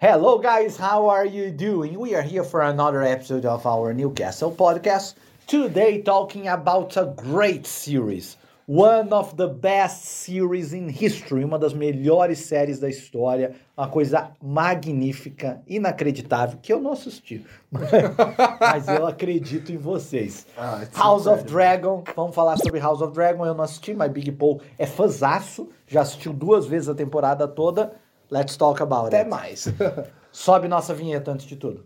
Hello, guys, how are you doing? We are here for another episode of our Newcastle podcast. Today, talking about a great series, one of the best series in history, uma das melhores séries da história, uma coisa magnífica, inacreditável, que eu não assisti, mas eu acredito em vocês. House of Dragon, vamos falar sobre House of Dragon, eu não assisti, mas Big Paul é fãzaço, já assistiu 2 vezes a temporada toda. Let's talk about Até it. mais. Sobe nossa vinheta antes de tudo.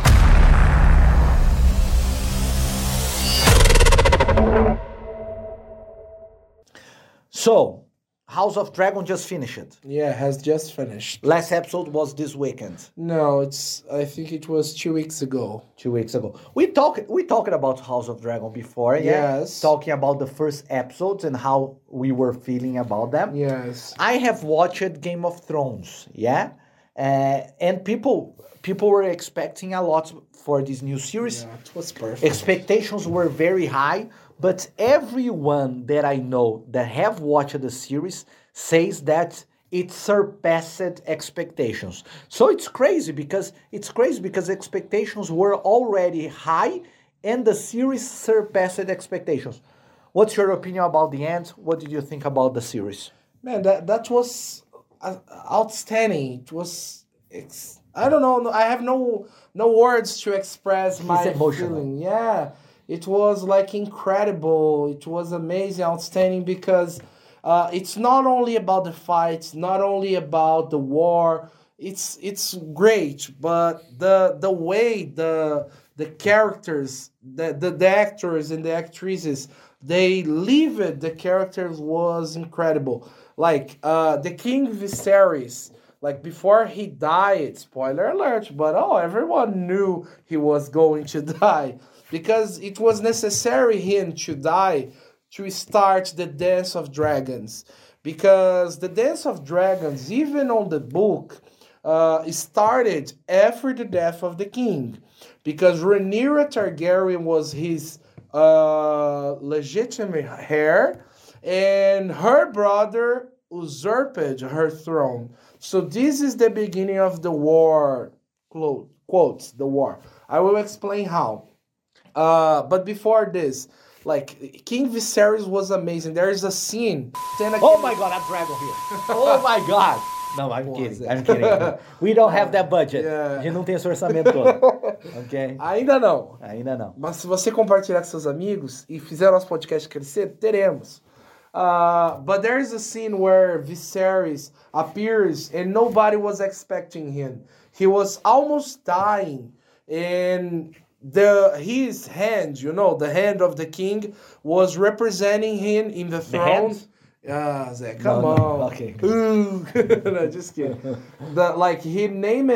So, House of Dragon just finished. Yeah, has just finished. Last episode was this weekend, No, I think it was 2 weeks ago. 2 weeks ago. We talked about House of Dragon before, yeah? Yes. Talking about the first episodes and how we were feeling about them. Yes. I have watched Game of Thrones, yeah? And people were expecting a lot for this new series. Yeah, it was perfect. Expectations were very high, but everyone that I know that have watched the series says that it surpassed expectations. So it's crazy because expectations were already high and the series surpassed expectations. What's your opinion about the end? What did you think about the series? Man, that was outstanding. It was I don't know. I have no words to express my emotional. feeling. Yeah, it was like incredible. It was amazing, outstanding because it's not only about the fights, not only about the war. It's great, but the way the characters, the actors and the actresses, they live it. The characters was incredible. Like the King Viserys. Like before he died, spoiler alert, but everyone knew he was going to die because it was necessary him to die to start the Dance of Dragons. Because the Dance of Dragons, even on the book, started after the death of the king. Because Rhaenyra Targaryen was his legitimate heir, and her brother usurped her throne. So this is the beginning of the war, quotes, the war. I will explain how. But before this, like, King Viserys was amazing. There is a scene. Oh my god, a dragon here. Oh my god. No, I'm kidding. We don't have that budget. Yeah. A gente não tem esse orçamento todo. Ok? Ainda não. Ainda não. Mas se você compartilhar com seus amigos e fizer nosso podcast crescer, teremos. But there is a scene where Viserys appears and nobody was expecting him. He was almost dying, and his hand, the hand of the king, was representing him in the throne. Zé, come on. No. Okay. No, just kidding. He named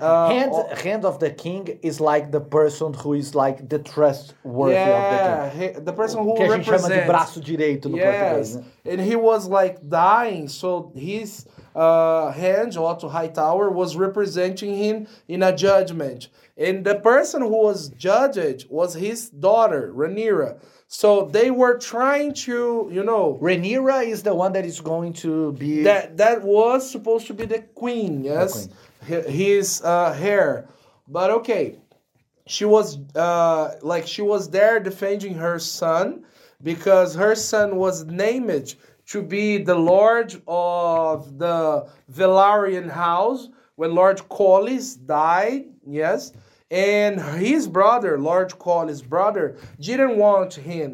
Hand of the king is like the person who is like the trustworthy of the king. The person who que a gente chama de represents. braço direito no português, né? And he was like dying, so his hand, Otto Hightower, was representing him in a judgment. And the person who was judged was his daughter, Rhaenyra. So they were trying to, Rhaenyra is the one that is going to be... That was supposed to be the queen, yes? His heir. But okay, she was she was there defending her son because her son was named to be the lord of the Velaryon house when Lord Corlys died, yes? And his brother, Lord Corlys' brother, didn't want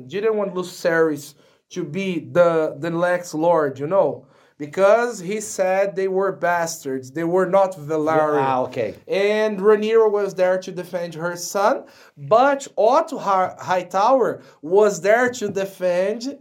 Lucerys to be the next lord, because he said they were bastards. They were not Velaryon. Okay. And Rhaenyra was there to defend her son, but Otto Hightower was there to defend,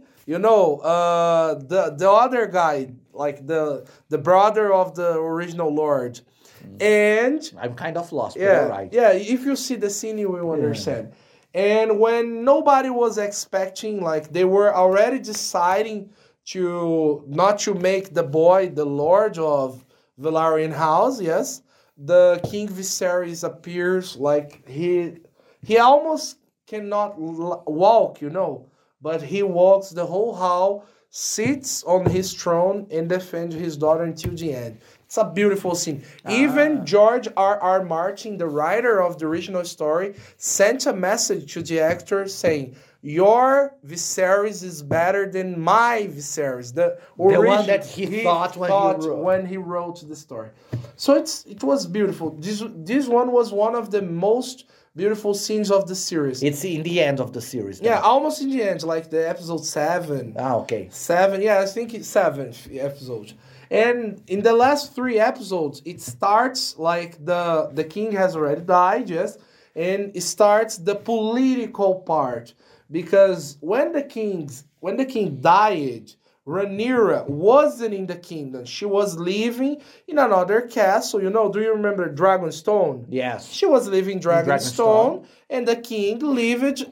the other guy, like the brother of the original lord. And I'm kind of lost, but all right. Yeah, if you see the scene, you will understand. And when nobody was expecting, like they were already deciding to not to make the boy the lord of Velaryon house, yes, the King Viserys appears like he almost cannot walk, but he walks the whole hall, sits on his throne and defends his daughter until the end. It's a beautiful scene. Even George R. Martin, the writer of the original story, sent a message to the actor saying, "Your Viserys is better than my Viserys." The one that he thought when he wrote the story. So it was beautiful. This one was one of the most beautiful scenes of the series. It's in the end of the series. Then. Yeah, almost in the end, like the episode 7. Okay. 7, yeah, I think it's 7th episode. And in the last 3 episodes, it starts like the king has already died, yes, and it starts the political part. Because when the king died, Rhaenyra wasn't in the kingdom. She was living in another castle. You know, do you remember Dragonstone? Yes. She was living in Dragonstone, and the king lived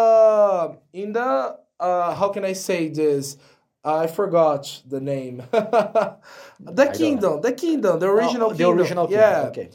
in the how can I say this? I forgot the name. the kingdom, the original kingdom. The original kingdom. Yeah. Okay.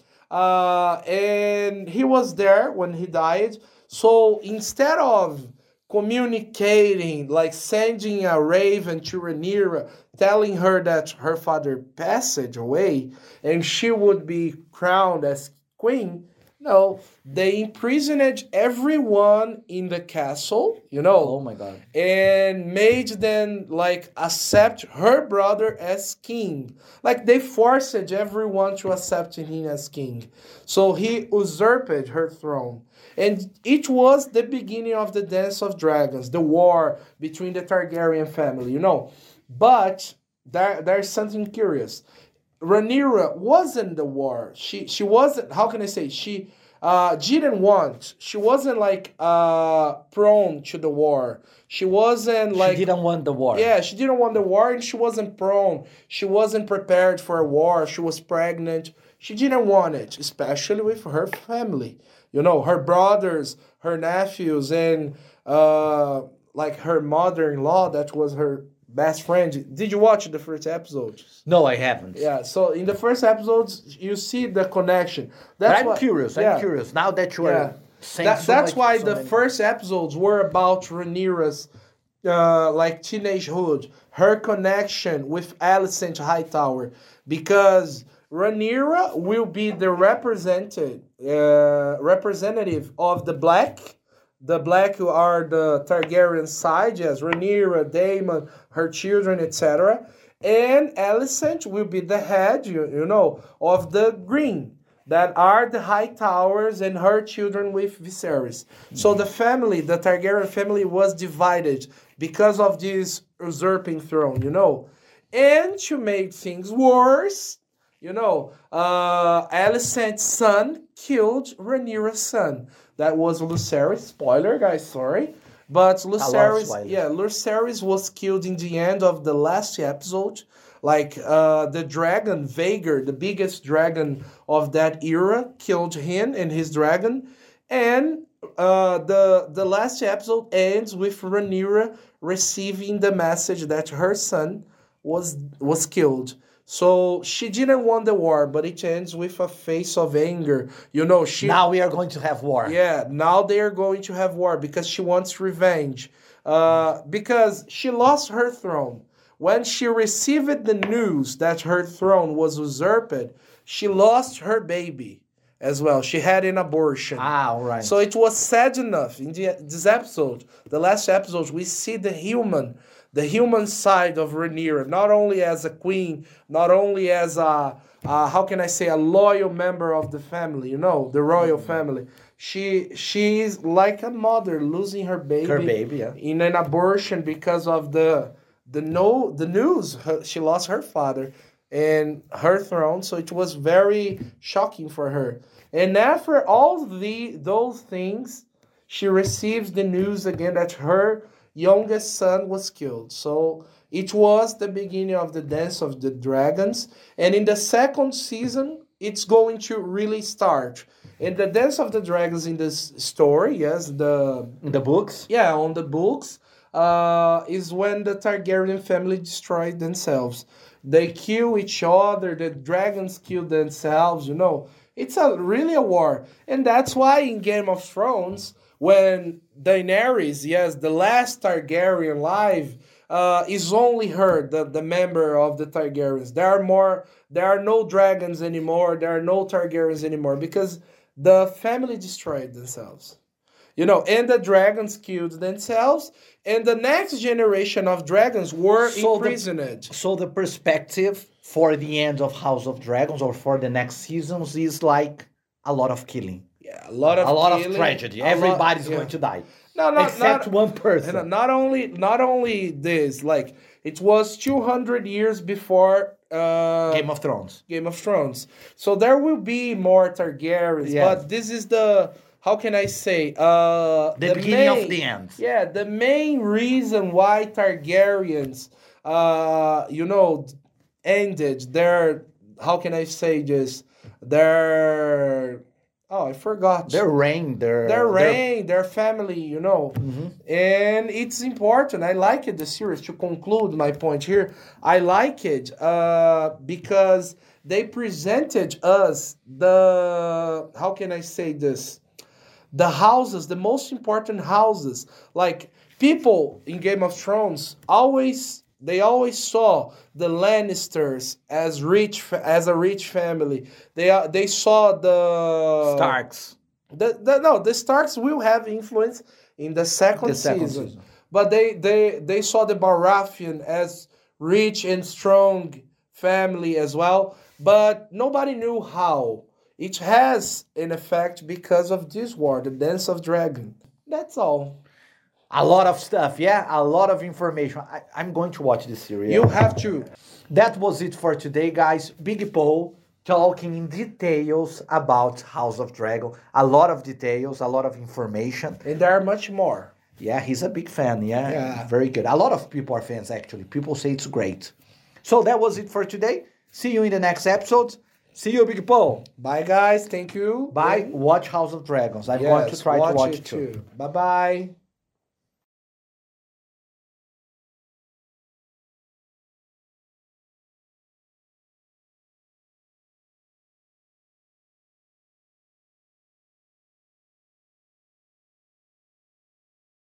And he was there when he died. So instead of communicating, like sending a raven to Rhaenyra, telling her that her father passed away and she would be crowned as queen, no, they imprisoned everyone in the castle, you know. Oh my God. And made them like accept her brother as king. Like they forced everyone to accept him as king. So he usurped her throne. And it was the beginning of the Dance of Dragons, the war between the Targaryen family, you know. But there's something curious. Rhaenyra wasn't the war. She wasn't, how can I say, she didn't want. She wasn't like prone to the war. She wasn't like... She didn't want the war. Yeah, she didn't want the war and she wasn't prone. She wasn't prepared for a war. She was pregnant. She didn't want it, especially with her family. You know, her brothers, her nephews, and like her mother-in-law, that was her best friend. Did you watch the first episode? No, I haven't. Yeah, so in the first episodes, you see the connection. I'm curious. Now that you are saying that's why the first episodes were about Rhaenyra's like teenagehood, her connection with Alicent Hightower, because Rhaenyra will be the representative of the Black. The Black who are the Targaryen side, yes, Rhaenyra, Daemon, her children, etc. And Alicent will be the head, you know, of the Green, that are the Hightowers and her children with Viserys. So the family, the Targaryen family, was divided because of this usurping throne, you know. And to make things worse, you know, Alicent's son killed Rhaenyra's son. That was Lucerys. Spoiler, guys, sorry. But Lucerys was killed in the end of the last episode. Like, the dragon, Vhagar, the biggest dragon of that era, killed him and his dragon. And the last episode ends with Rhaenyra receiving the message that her son was killed. So she didn't want the war, but it ends with a face of anger. You know, now we are going to have war. Yeah, now they are going to have war because she wants revenge. Because she lost her throne. When she received the news that her throne was usurped, she lost her baby as well. She had an abortion. All right. So it was sad enough. In this episode, the last episode, we see the human side of Rhaenyra, not only as a queen, not only as a loyal member of the family, you know, the royal family. She's like a mother losing her baby. Her baby, yeah. In an abortion because of the news. She lost her father and her throne, so it was very shocking for her. And after all those things, she receives the news again that her youngest son was killed. So it was the beginning of the Dance of the Dragons. And in the second season, it's going to really start. And the Dance of the Dragons in this story, yes, in the books? Yeah, on the books, is when the Targaryen family destroyed themselves. They kill each other, the dragons kill themselves, you know. It's really a war. And that's why in Game of Thrones, when Daenerys, yes, the last Targaryen alive, is only her, the member of the Targaryens. There are no dragons anymore. There are no Targaryens anymore because the family destroyed themselves. You know, and the dragons killed themselves, and the next generation of dragons were imprisoned. So the perspective for the end of House of Dragons or for the next seasons is like a lot of killing. Yeah, a lot of killing, tragedy. Everybody's going to die. No, except one person. And not only this, like it was 200 years before Game of Thrones. Game of Thrones. So there will be more Targaryens, but this is the, how can I say, the beginning of the end. Yeah, the main reason why Targaryens ended their, how can I say this, their, oh, I forgot. Their reign, their family, you know. Mm-hmm. And it's important. I like it, the series, to conclude my point here. I like it because they presented us the, how can I say this? The houses, the most important houses. Like, people in Game of Thrones they always saw the Lannisters as a rich family. They saw the Starks. The Starks will have influence in the second season. But they saw the Baratheon as rich and strong family as well. But nobody knew how. It has an effect because of this war, the Dance of Dragon. That's all. A lot of stuff, yeah? A lot of information. I'm going to watch this series. You have to. That was it for today, guys. Big Paul talking in details about House of Dragon. A lot of details, a lot of information. And there are much more. Yeah, he's a big fan, yeah. Very good. A lot of people are fans, actually. People say it's great. So that was it for today. See you in the next episode. See you, Big Paul. Bye, guys. Thank you. Bye. Watch House of Dragons. I'm going to try to watch it too. Bye-bye.